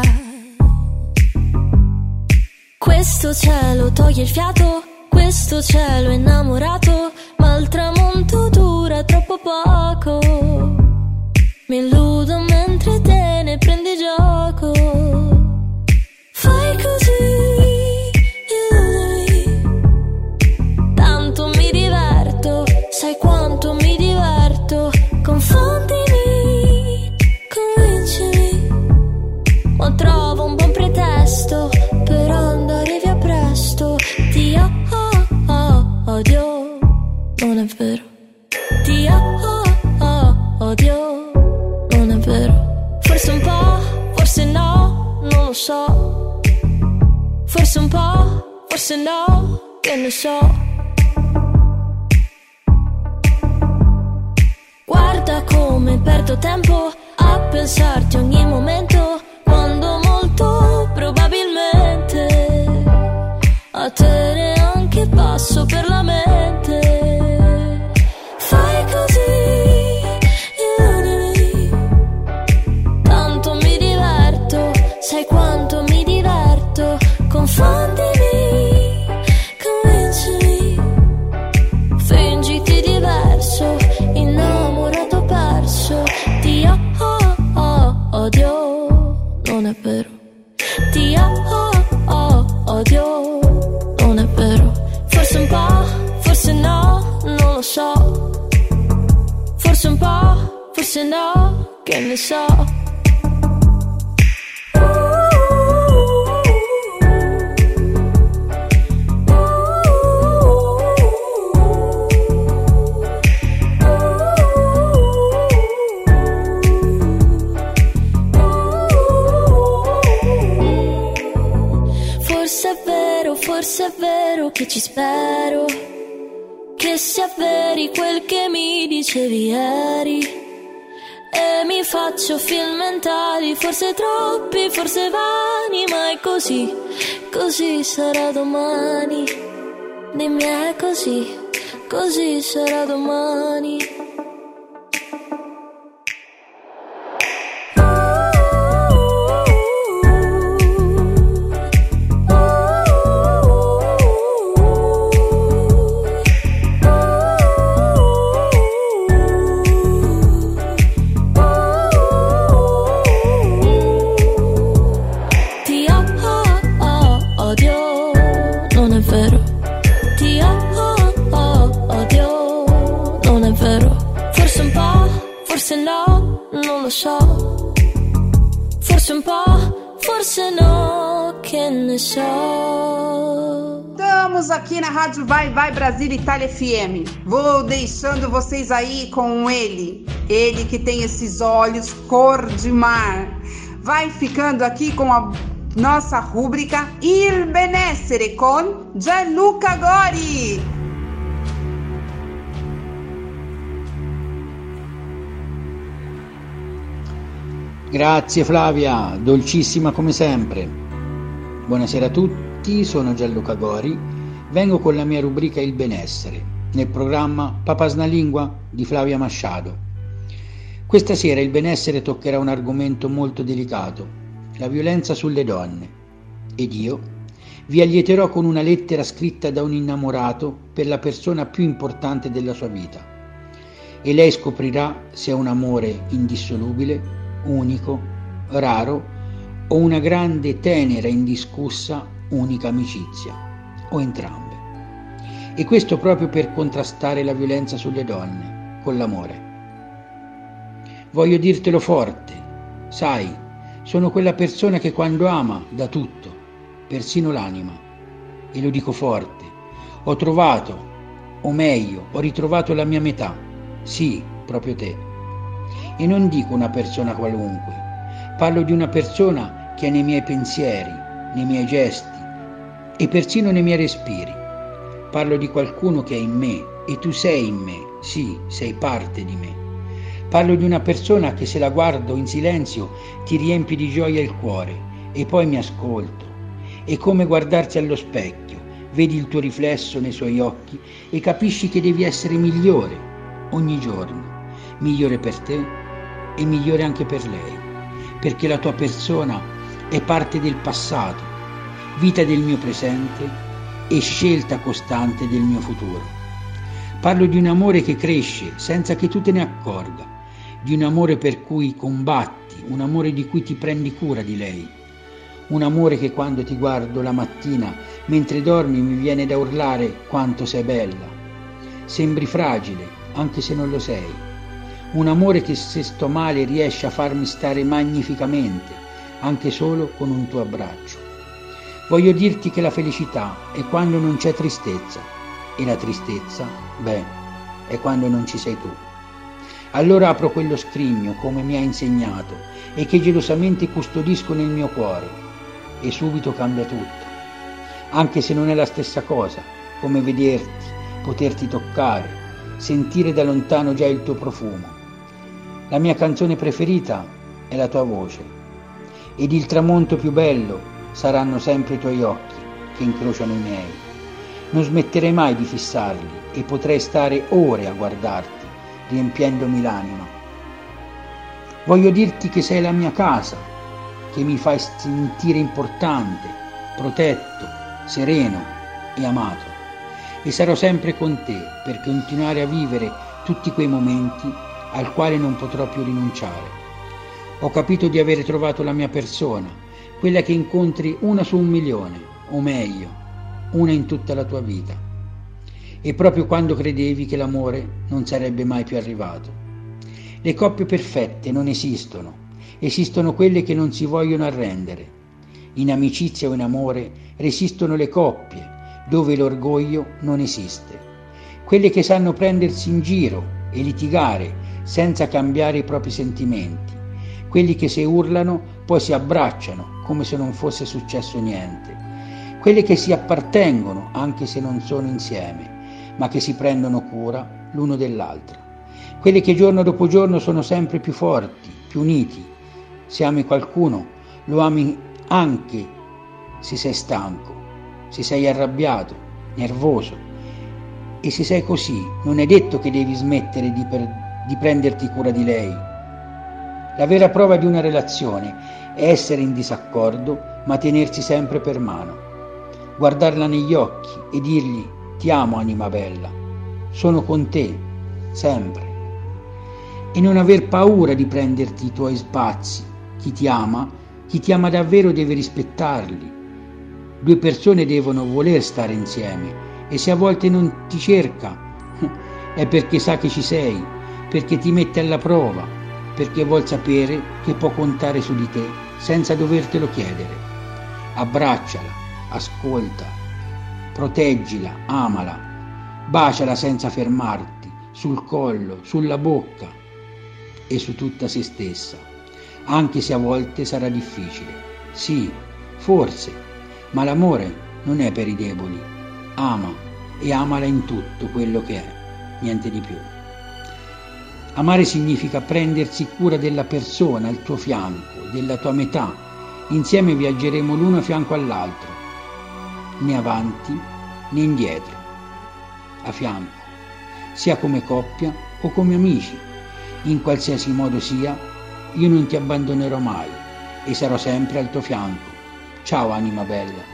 Questo cielo toglie il fiato, questo cielo innamorato, ma il tramonto dura troppo poco. Mi illudo mentre te ne prendi gioco. Fai così, illudimi, tanto mi diverto, sai quanto mi diverto. Confondimi, convincimi, ma trovo un buon pretesto per andare via presto. Ti odio, non è vero. Ti odio, non è vero. Forse un po', forse no, non lo so. Forse un po', forse no, che ne so. Guarda come perdo tempo a pensarti ogni momento, quando molto probabilmente a te neanche passo per la mente. Fai così, illudimi, tanto mi diverto, sai quanto mi diverto. Confondimi, convincimi, fingiti diverso, innamorato perso. Ti odio, non è vero. Ti odio, non è vero. Forse un po', forse no, non lo so. Forse un po', forse no, che ne so. forse è vero che ci spero, che sia veri quel che mi dicevi ieri. E mi faccio film mentali, forse troppi, forse vani, ma è così, così sarà domani. Dimmi è così, così sarà domani. Forse no, non lo so. Forse un po', forse no, que ne so. Estamos aqui na Rádio Vai Vai Brasília Itália F M. Vou deixando vocês aí com ele. Ele que tem esses olhos cor de mar. Vai ficando aqui com a nossa rúbrica Il Benessere con Gianluca Gori. Grazie Flavia, dolcissima come sempre. Buonasera a tutti, sono Gianluca Gori, vengo con la mia rubrica Il Benessere, nel programma Papas na Lingua di Flavia Machado. Questa sera il benessere toccherà un argomento molto delicato, la violenza sulle donne, ed io vi allieterò con una lettera scritta da un innamorato per la persona più importante della sua vita, e lei scoprirà se è un amore indissolubile, unico, raro, o una grande, tenera, indiscussa, unica amicizia, o entrambe. E questo proprio per contrastare la violenza sulle donne, con l'amore. Voglio dirtelo forte, sai, sono quella persona che quando ama dà tutto, persino l'anima. E lo dico forte, ho trovato, o meglio, ho ritrovato la mia metà, sì, proprio te. E non dico una persona qualunque, parlo di una persona che è nei miei pensieri, nei miei gesti e persino nei miei respiri. Parlo di qualcuno che è in me e tu sei in me, sì, sei parte di me. Parlo di una persona che se la guardo in silenzio ti riempie di gioia il cuore e poi mi ascolto. È come guardarsi allo specchio, vedi il tuo riflesso nei suoi occhi e capisci che devi essere migliore ogni giorno, migliore per te e migliore anche per lei, perché la tua persona è parte del passato, vita del mio presente e scelta costante del mio futuro. Parlo di un amore che cresce senza che tu te ne accorga, di un amore per cui combatti, un amore di cui ti prendi cura di lei, un amore che quando ti guardo la mattina mentre dormi mi viene da urlare quanto sei bella, sembri fragile anche se non lo sei. Un amore che se sto male riesce a farmi stare magnificamente, anche solo con un tuo abbraccio. Voglio dirti che la felicità è quando non c'è tristezza, e la tristezza, beh, è quando non ci sei tu. Allora apro quello scrigno come mi hai insegnato e che gelosamente custodisco nel mio cuore, e subito cambia tutto. Anche se non è la stessa cosa, come vederti, poterti toccare, sentire da lontano già il tuo profumo. La mia canzone preferita è la tua voce, ed il tramonto più bello saranno sempre i tuoi occhi che incrociano i miei. Non smetterei mai di fissarli e potrei stare ore a guardarti, riempiendomi l'anima. Voglio dirti che sei la mia casa, che mi fai sentire importante, protetto, sereno e amato. E sarò sempre con te per continuare a vivere tutti quei momenti al quale non potrò più rinunciare. Ho capito di avere trovato la mia persona, quella che incontri una su un milione, o meglio, una in tutta la tua vita. E proprio quando credevi che l'amore non sarebbe mai più arrivato. Le coppie perfette non esistono, esistono quelle che non si vogliono arrendere. In amicizia o in amore resistono le coppie, dove l'orgoglio non esiste. Quelle che sanno prendersi in giro e litigare senza cambiare i propri sentimenti, quelli che se urlano poi si abbracciano come se non fosse successo niente, quelle che si appartengono anche se non sono insieme, ma che si prendono cura l'uno dell'altra, quelle che giorno dopo giorno sono sempre più forti, più uniti. Se ami qualcuno, lo ami anche se sei stanco, se sei arrabbiato, nervoso, e se sei così non è detto che devi smettere di, per, di prenderti cura di lei. La vera prova di una relazione è essere in disaccordo ma tenersi sempre per mano, guardarla negli occhi e dirgli: ti amo anima bella, sono con te, sempre. E non aver paura di prenderti i tuoi spazi. Chi ti ama, chi ti ama davvero deve rispettarli. Due persone devono voler stare insieme, e se a volte non ti cerca è perché sa che ci sei, perché ti mette alla prova, perché vuol sapere che può contare su di te senza dovertelo chiedere. Abbracciala, ascolta, proteggila, amala, baciala senza fermarti, sul collo, sulla bocca e su tutta se stessa, anche se a volte sarà difficile. Sì, forse, ma l'amore non è per i deboli. Ama e amala in tutto quello che è, niente di più. Amare significa prendersi cura della persona al tuo fianco, della tua metà. Insieme viaggeremo l'uno a fianco all'altro, né avanti né indietro, a fianco, sia come coppia o come amici. In qualsiasi modo sia, io non ti abbandonerò mai e sarò sempre al tuo fianco. Ciao anima bella.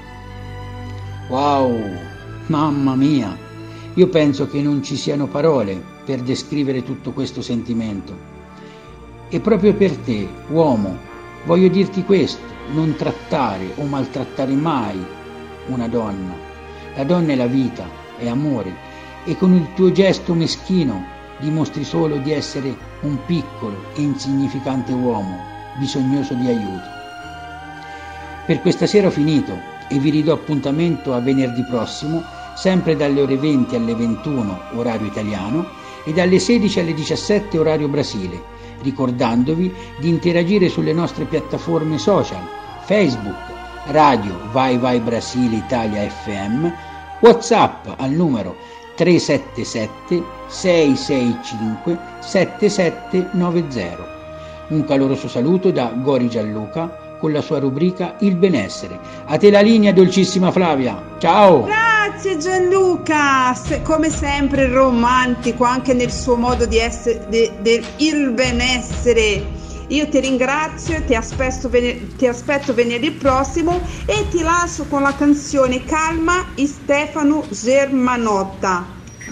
Wow, mamma mia, io penso che non ci siano parole per descrivere tutto questo sentimento. E proprio per te, uomo, voglio dirti questo: non trattare o maltrattare mai una donna. La donna è la vita, è amore, e con il tuo gesto meschino dimostri solo di essere un piccolo e insignificante uomo, bisognoso di aiuto. Per questa sera ho finito e vi ridò appuntamento a venerdì prossimo, sempre dalle ore venti alle ventuno, orario italiano, e dalle sedici alle diciassette, orario Brasile, ricordandovi di interagire sulle nostre piattaforme social, Facebook, Radio Vai Vai Brasile Italia F M, WhatsApp al numero tre sette sette sei sei cinque sette sette nove zero. Un caloroso saluto da Gori Gianluca con la sua rubrica Il benessere. A te la linea, dolcissima Flavia. Ciao! Grazie Gianluca, Se, come sempre romantico anche nel suo modo di essere, de, de, il benessere. Io ti ringrazio, ti aspetto, vener- ti aspetto venerdì prossimo e ti lascio con la canzone Calma di Stefano Germanotta.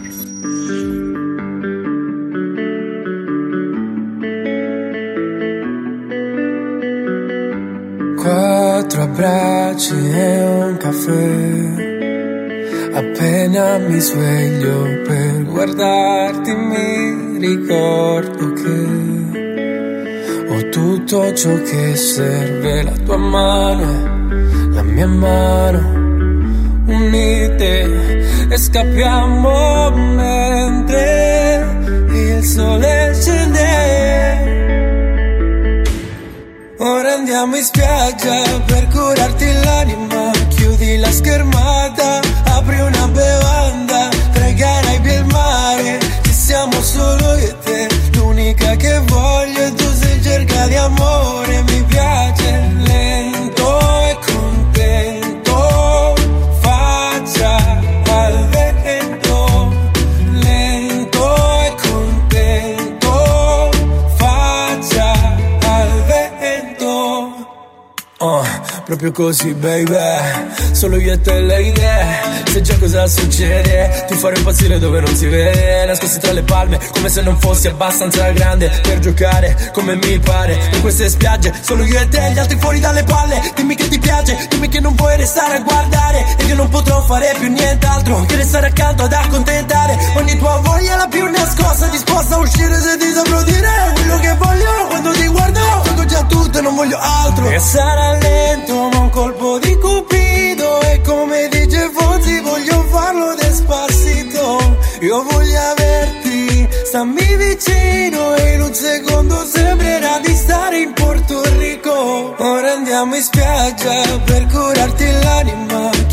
Quattro abbracci e un caffè. Appena mi sveglio per guardarti mi ricordo che ho tutto ciò che serve, la tua mano e la mia mano unite, e scappiamo mentre il sole scende. Ora andiamo in spiaggia per curarti l'anima, chiudi la schermata, apri una bevanda, tra i Caraibi e il mare, ci siamo solo io e te, l'unica che voglio è tu, sei cerca di amore, mi piace lento e contento, faccia al vento, lento e contento, faccia al vento. Oh, proprio così baby, solo io e te le idee, sai già cosa succede, ti farò impazzire dove non si vede, nascosti tra le palme come se non fossi abbastanza grande per giocare come mi pare, in queste spiagge solo io e te, gli altri fuori dalle palle, dimmi che ti piace, dimmi che non vuoi restare a guardare, e che non potrò fare più nient'altro che restare accanto ad accontentare ogni tua voglia la più nascosta, disposta a uscire se ti saprò dire quello che voglio, quando ti guardo tengo già tutto e non voglio altro, e sarà lento ma un colpo di cupido, e come dice Fonzi voglio farlo despacito, io voglio averti, stammi vicino e in un secondo sembrerà di stare in Porto Rico. Ora andiamo in spiaggia per curarti l'anima, chiudi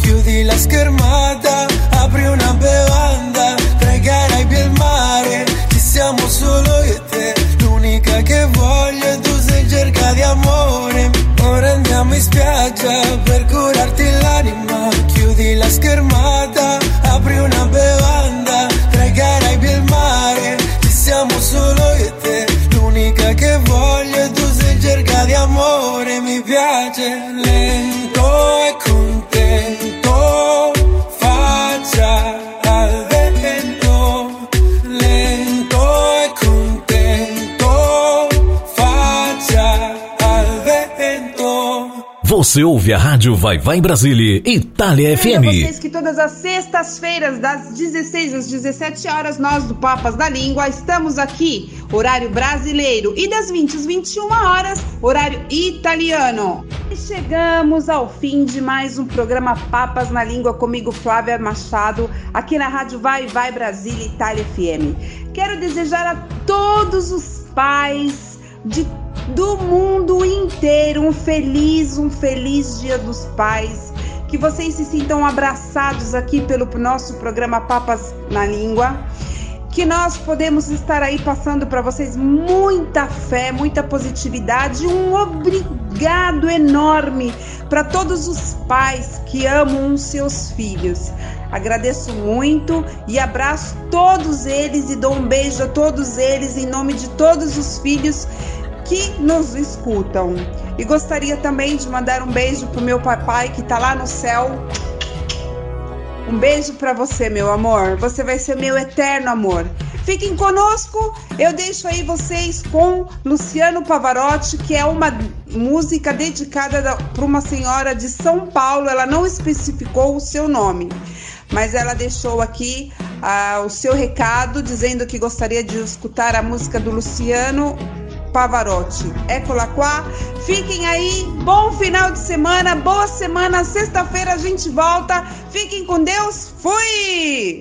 la schermata, apri una bevanda, tra i Caraibi e il mare, ci siamo solo io e te, l'unica che voglio e tu sei in cerca di amore. Ora andiamo in spiaggia per curarti l'anima, chiudi la schermata, apri una bevanda, tra i Caraibi e il mare, ci siamo solo io e te, l'unica che voglio e tu sei in cerca di amore. Mi piace lento e contento, faccia al vento, lento e contento, faccia al vento. Você ouve a rádio Vai Vai Brasília, Itália F M. Vocês que todas as sextas-feiras, das dezesseis às dezessete horas, nós do Papas da Língua estamos aqui, horário brasileiro, e das vinte às vinte e uma horas, horário italiano. E chegamos ao fim de mais um programa Papas na Língua comigo, Flávia Machado, aqui na rádio Vai Vai Brasília, Itália F M. Quero desejar a todos os pais de do mundo inteiro um feliz, um feliz Dia dos Pais, que vocês se sintam abraçados aqui pelo nosso programa Papas na Língua, que nós podemos estar aí passando para vocês muita fé, muita positividade, um obrigado enorme para todos os pais que amam os seus filhos. Agradeço muito e abraço todos eles e dou um beijo a todos eles em nome de todos os filhos que nos escutam. E gostaria também de mandar um beijo pro meu papai que tá lá no céu. Um beijo para você, meu amor. Você vai ser meu eterno amor. Fiquem conosco. Eu deixo aí vocês com Luciano Pavarotti, que é uma música dedicada para uma senhora de São Paulo. Ela não especificou o seu nome, mas ela deixou aqui uh, o seu recado, dizendo que gostaria de escutar a música do Luciano Pavarotti. Eccola qua. Fiquem aí. Bom final de semana. Boa semana. Sexta-feira a gente volta. Fiquem com Deus. Fui!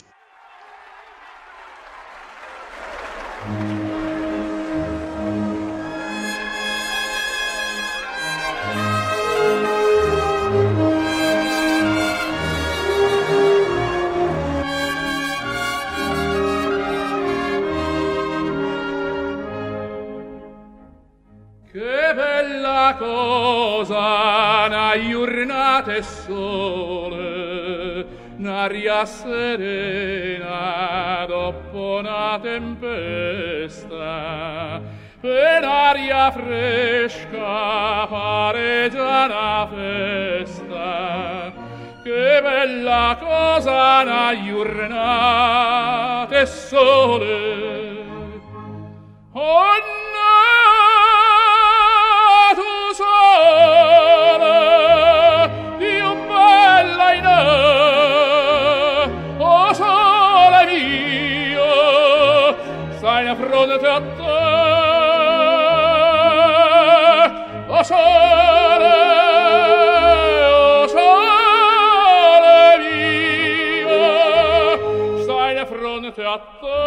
Che bella cosa, una giornata e sole, un'aria serena dopo una tempesta, per aria fresca pare già una festa. Che bella cosa, una giornata e sole, oh no! Fronte a te, o sole, o sole mio, stai di fronte a te,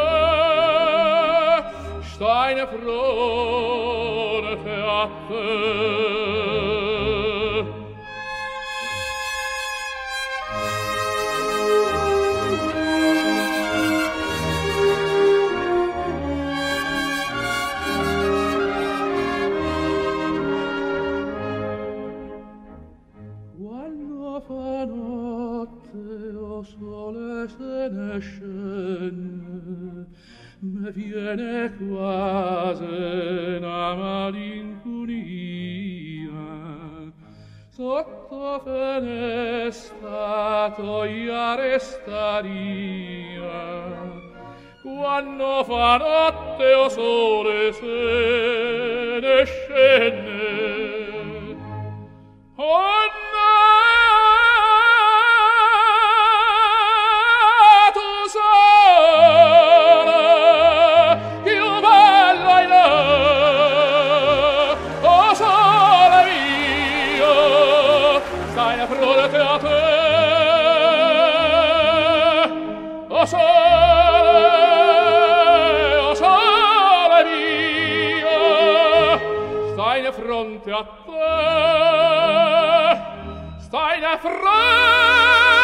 stai di fronte a te. Sole se ne scende, me viene quasi una malinconia, sotto finestra tua restaria, quando fa notte o sole se ne scende, oh no! Fronte a te, o sole, o sole mio, stai di fronte a te, seine Freude